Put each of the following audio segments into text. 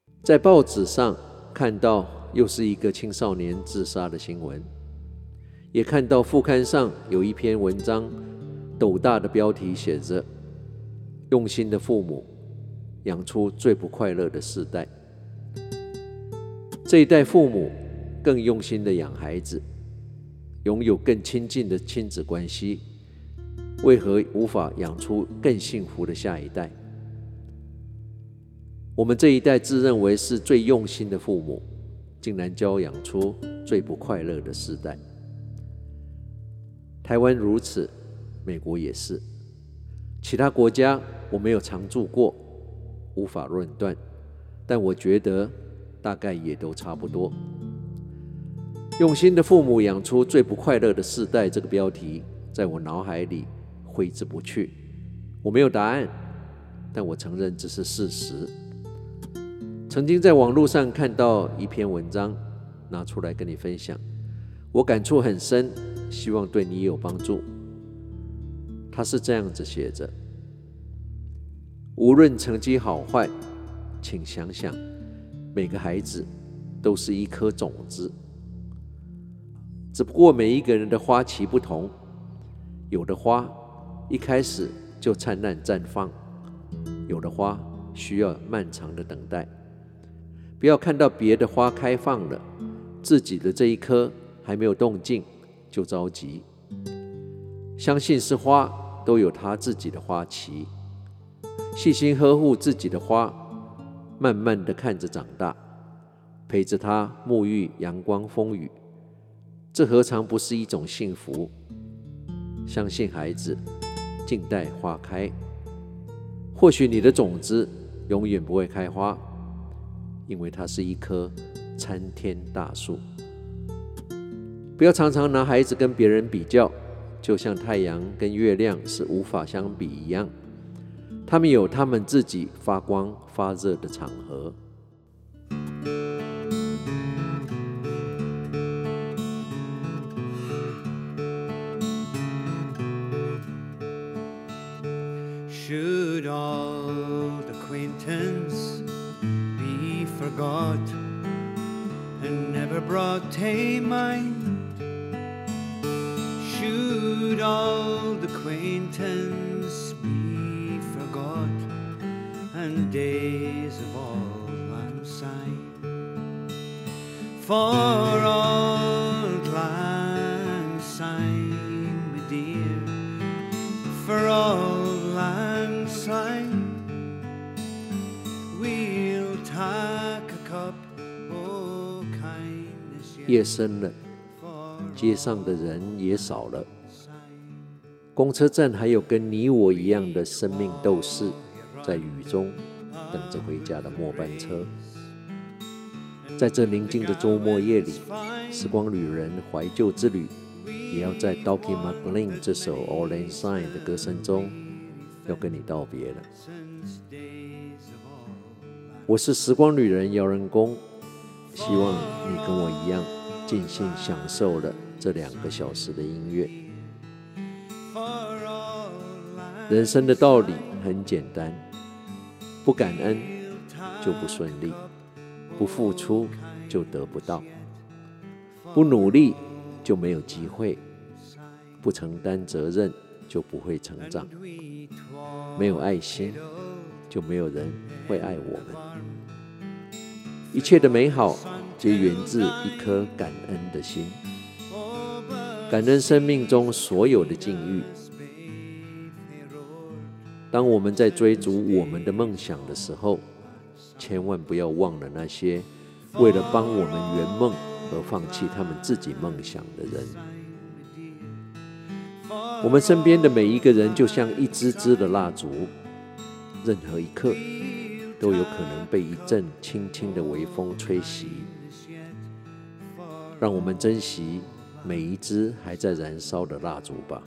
在報紙上看到又是一個青少年自殺的新聞，也看到副刊上有一篇文章，斗大的標題寫着“用心的父母養出最不快樂的世代”。這一代父母更用心的養孩子，擁有更親近的親子關係，為何無法養出更幸福的下一代？我們這一代自認為是最用心的父母，竟然教養出最不快樂的世代。台灣如此，美國也是。其他國家我沒有常住過，無法論斷，但我覺得大概也都差不多。用心的父母養出最不快樂的世代，這個標題在我腦海裡揮之不去。我沒有答案，但我承認這是事實。曾經在網絡上看到一篇文章，拿出來跟你分享，我感觸很深，希望對你有幫助。他是這樣子寫着：無論成績好壞，請想想，每個孩子都是一顆種子，只不過每一個人的花期不同，有的花一開始就燦爛綻放，有的花需要漫長的等待。不要看到別的花開放了，自己的這一顆還沒有動靜就着急。相信是花都有它自己的花期，細心呵護自己的花，慢慢地看着長大，陪着它沐浴陽光風雨，這何嘗不是一種幸福？相信孩子，靜待花開。或許你的種子永遠不會開花，因為它是一棵參天大樹。不要常常拿孩子跟別人比較，就像太陽跟月亮是無法相比一樣，他們有他們自己發光發熱的場合。 Should old acquaintance be forgot and never brought to mind? Should old acquaintance be forgot and days of old lang syne? For old lang syne, my dear, for old lang syne, we'll take a cup of kindness yet. 夜深了，街上的人也少了，公車站還有跟你我一樣的生命鬥士，在雨中等着回家的末班車。在這寧靜的週末夜裡，時光旅人懷舊之旅，也要在 Dougie MacLean 這首 Auld Lang Syne 的歌聲中，要跟你道別了。我是時光旅人姚仁恭，希望你跟我一樣盡興享受了這2個小時的音樂。人生的道理很簡單，不感恩就不順利，不付出就得不到，不努力就沒有機會，不承擔責任就不會成長，沒有愛心就沒有人會愛我們。一切的美好皆源自一顆感恩的心，感恩生命中所有的境遇。當我們在追逐我們的夢想的時候，千萬不要忘了那些為了幫我們圓夢而放棄他們自己夢想的人。我們身邊的每一個人就像一支支的蠟燭，任何一刻都有可能被一陣輕輕的微風吹襲。讓我們珍惜每一支還在燃燒的蠟燭吧。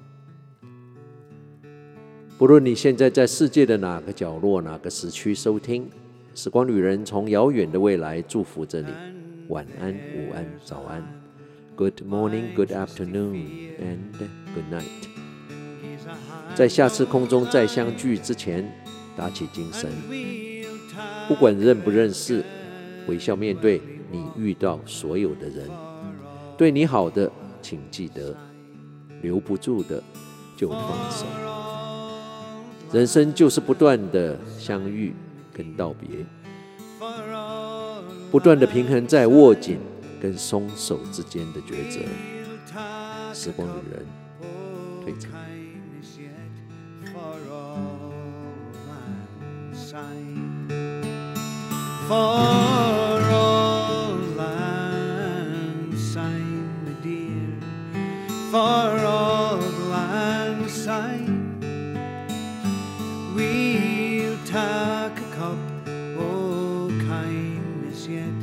不論你現在在世界的哪個角落、哪個時區收聽，時光旅人從遙遠的未來祝福着你。晚安、午安、早安。Good morning, good afternoon, and good night。在下次空中再相聚之前，打起精神， 不管認不認識，微笑面對你遇到所有的人。對你好的，請記得；留不住的，就放手。人生就是不斷的相遇跟道別，不斷的平衡在握緊跟鬆手之間的抉擇。時光旅人，退場。 For all I'm sighing, my dear, for all I'm sighing, we'll take a cup, oh kindness yet.